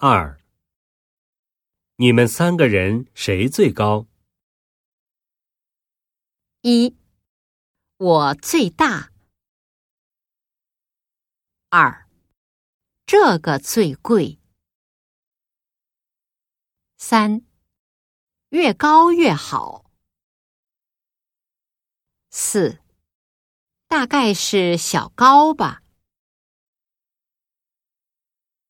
2. 你们3个人谁最高 ？1. 我最大。2. 这个最贵。3. 越高越好。4. 大概是小高吧。